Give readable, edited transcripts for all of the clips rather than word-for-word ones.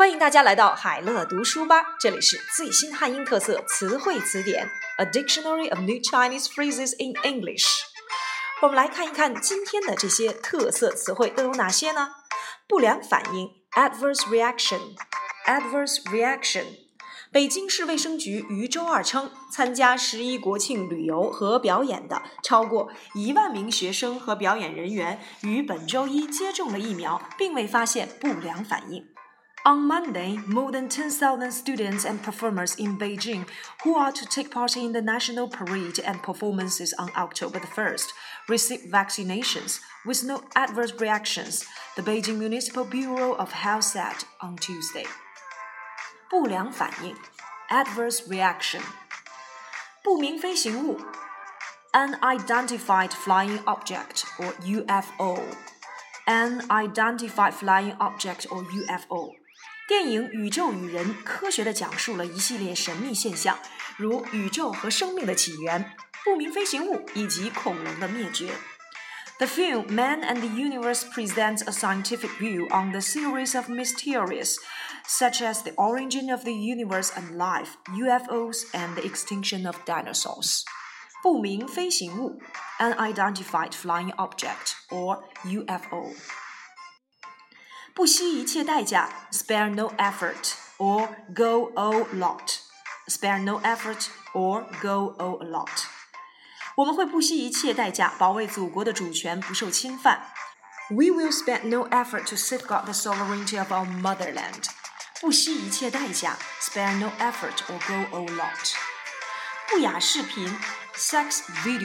欢迎大家来到海乐读书吧，这里是最新汉英特色词汇词典 A Dictionary of New Chinese Phrases in English。 我们来看一看今天的这些特色词汇都有哪些呢？不良反应 Adverse reaction。 北京市卫生局于周二称，参加11国庆旅游和表演的超过1万名学生和表演人员于本周一接种了疫苗，并未发现不良反应。On Monday, more than 10,000 students and performers in Beijing who are to take part in the national parade and performances on October the 1st received vaccinations with no adverse reactions, the Beijing Municipal Bureau of Health said on Tuesday. 不良反应 Adverse reaction。 不明飞行物 Unidentified flying object or UFO. Unidentified flying object or UFO。电影《宇宙与人》科学地讲述了一系列神秘现象，如宇宙和生命的起源、不明飞行物以及恐龙的灭绝。The film Man and the Universe presents a scientific view on the series of mysteries, such as the origin of the universe and life, UFOs, and the extinction of dinosaurs. 不明飞行物 Unidentified flying object or UFO。不惜一切代价 spare no effort or go all out. Spare no effort or go all out. 我们会不惜一切代价保卫祖国的主权不受侵犯。We will spare no effort to safeguard the sovereignty of our motherland. 不惜一切代价 spare no effort or go all out. 不雅视频 sex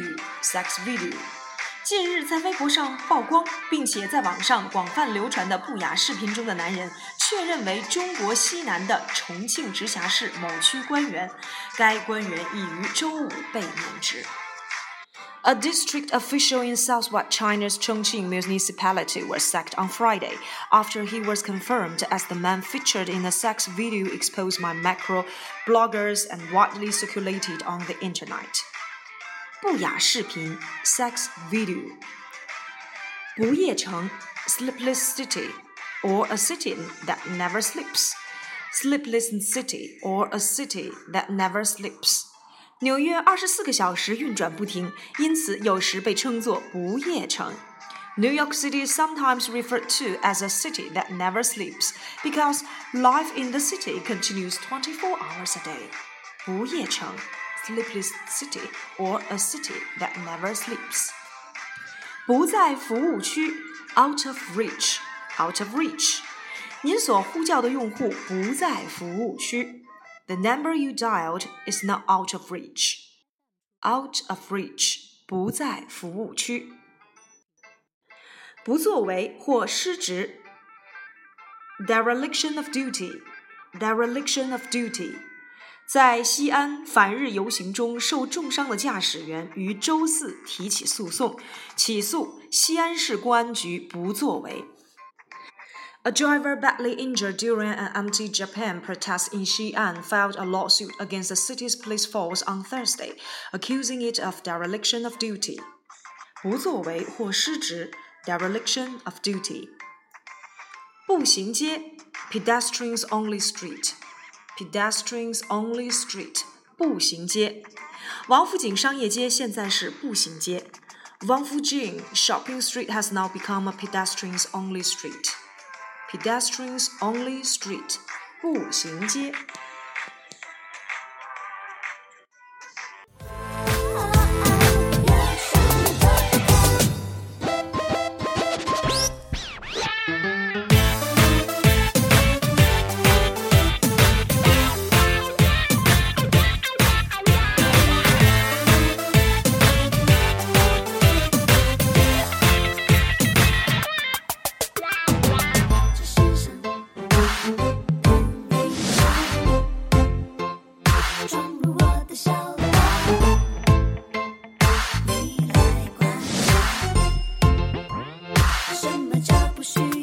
video。近日在微博上曝光并且在网上广泛流传的不雅视频中的男人确认为中国西南的重庆直辖市某区官员，该官员已于周五被免职。A district official in southwest China's Chongqing municipality was sacked on Friday after he was confirmed as the man featured in a sex video exposed by macro bloggers and widely circulated on the internet. 不雅视频 sex video。 不夜城 sleepless city or a city that never sleeps. Sleepless city or a city that never sleeps。 纽约24个小时运转不停，因此有时被称作不夜城。 New York City is sometimes referred to as a city that never sleeps because life in the city continues 24 hours a day. 不夜城Sleepless city or a city that never sleeps. 不在服务区 out of reach. 您所呼叫的用户不在服务区。 The number you dialed is not out of reach. Out of reach 不在服务区。不作为或失职 dereliction of duty. 在西安反日游行中受重伤的驾驶员于周四提起诉讼，起诉西安市公安局不作为。A driver badly injured during an anti-Japan protest in Xi'an filed a lawsuit against the city's police force on Thursday, accusing it of dereliction of duty. 不作为或失职 dereliction of duty。 步行街 pedestrians only street. 步行街。王府井商业街现在是步行街。王府井 shopping street has now become a pedestrians only street. 步行街。什么叫不需